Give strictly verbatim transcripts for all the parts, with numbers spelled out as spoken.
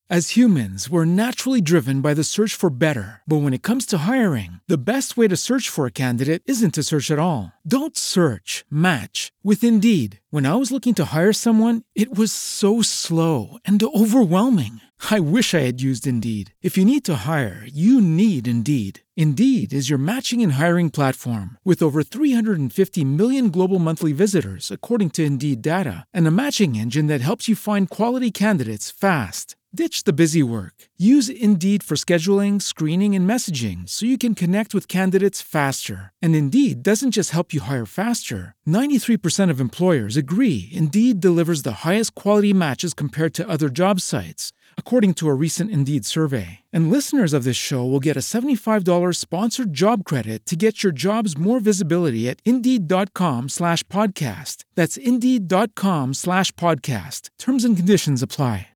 As humans, we're naturally driven by the search for better. But when it comes to hiring, the best way to search for a candidate isn't to search at all. Don't search, match with Indeed. When I was looking to hire someone, it was so slow and overwhelming. I wish I had used Indeed. If you need to hire, you need Indeed. Indeed is your matching and hiring platform with over three hundred fifty million global monthly visitors, according to Indeed data, and a matching engine that helps you find quality candidates fast. Ditch the busy work. Use Indeed for scheduling, screening, and messaging so you can connect with candidates faster. And Indeed doesn't just help you hire faster. ninety-three percent of employers agree Indeed delivers the highest quality matches compared to other job sites, according to a recent Indeed survey. And listeners of this show will get a seventy-five dollars sponsored job credit to get your jobs more visibility at Indeed.com slash podcast. That's Indeed.com slash podcast. Terms and conditions apply.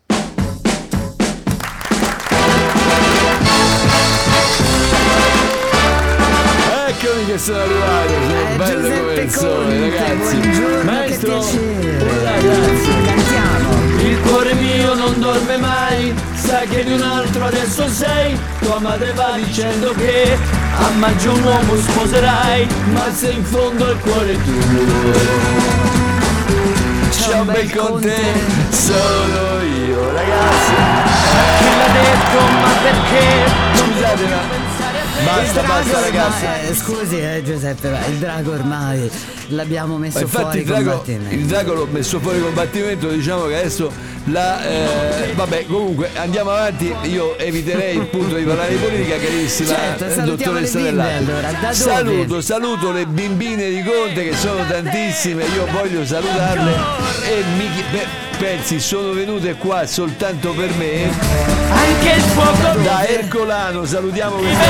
Eccomi che sono arrivato, sono eh, bello come il sole, ragazzi. Buongiorno, Maestro, che piacere. ragazzi, Cantiamo. il cuore mio non dorme mai, sai che di un altro adesso sei. Tua madre va dicendo che a maggio un uomo sposerai, ma se in fondo il cuore tuo c'è un bel con te, sono io, ragazzi. Chi l'ha detto, ma perché? Scusate, ma basta, basta ragazzi. Ormai, eh, scusi eh, Giuseppe, ma il drago ormai l'abbiamo messo fuori il drago, combattimento. il drago l'ho messo fuori combattimento, diciamo che adesso la eh, vabbè, comunque andiamo avanti. Io eviterei il punto di parlare di politica, carissima certo, eh, salutiamo dottoressa le bimbe, Dell'Arte. allora, da dove? Saluto, saluto le bimbine di Conte che sono tantissime, io voglio salutarle e mi chi- beh, pensi sono venute qua soltanto per me. Anche il fuoco Da Ercolano salutiamo questa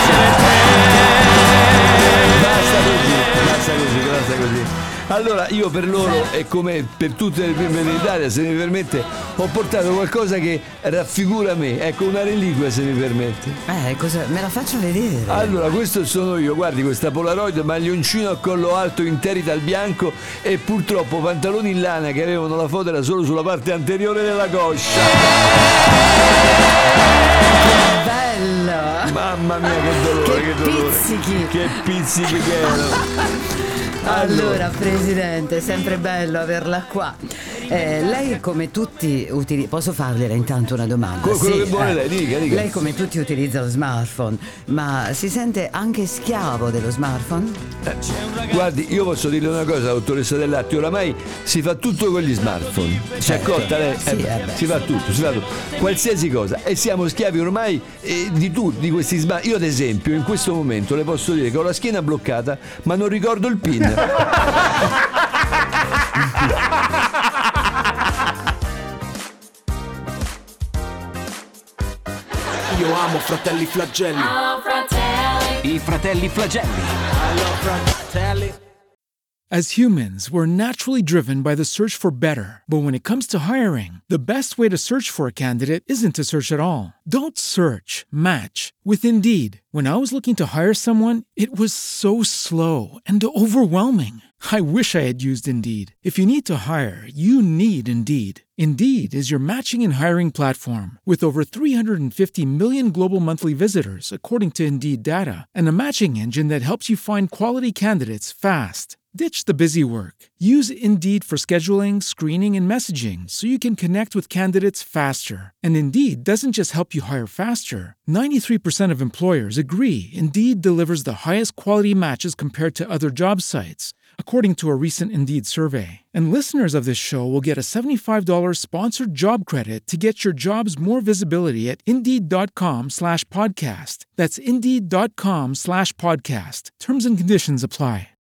basta così, basta così, basta così. Allora io per loro e come per tutte le bimbe d'Italia, se mi permette, ho portato qualcosa che raffigura me, ecco, una reliquia, se mi permette. Eh, cosa me la faccio vedere? Allora, questo sono io, guardi questa Polaroid, maglioncino a collo alto interita al bianco e purtroppo pantaloni in lana che avevano la foto era solo sulla parte anteriore della coscia. Bello! Mamma mia, che dolore, Che che, dolore. pizzichi. Che pizzichi che erano. Allora, Presidente, è sempre bello averla qua. Eh, lei come tutti utilizza... Posso fargliela intanto una domanda? Quello Sì, che vuole eh. lei, dica, dica. Lei come tutti utilizza lo smartphone, ma si sente anche schiavo dello smartphone? Eh, guardi, io posso dirle una cosa, dottoressa Dell'Arte, oramai si fa tutto con gli smartphone. Si è Certo. accorta lei? Sì, Eh, eh beh. si fa tutto, si fa tutto. Qualsiasi cosa. E siamo schiavi ormai eh, di tutti, di questi smartphone. Io ad esempio, in questo momento le posso dire che ho la schiena bloccata, ma non ricordo il PIN. Io amo Fratelli Flagelli. I fratelli flagelli. As humans, we're naturally driven by the search for better. But when it comes to hiring, the best way to search for a candidate isn't to search at all. Don't search, match with Indeed. When I was looking to hire someone, it was so slow and overwhelming. I wish I had used Indeed. If you need to hire, you need Indeed. Indeed is your matching and hiring platform with over three hundred fifty million global monthly visitors, according to Indeed data, and a matching engine that helps you find quality candidates fast. Ditch the busy work. Use Indeed for scheduling, screening, and messaging so you can connect with candidates faster. And Indeed doesn't just help you hire faster. ninety-three percent of employers agree Indeed delivers the highest quality matches compared to other job sites, according to a recent Indeed survey. And listeners of this show will get a seventy-five dollars sponsored job credit to get your jobs more visibility at Indeed.com slash podcast. That's Indeed.com slash podcast. Terms and conditions apply.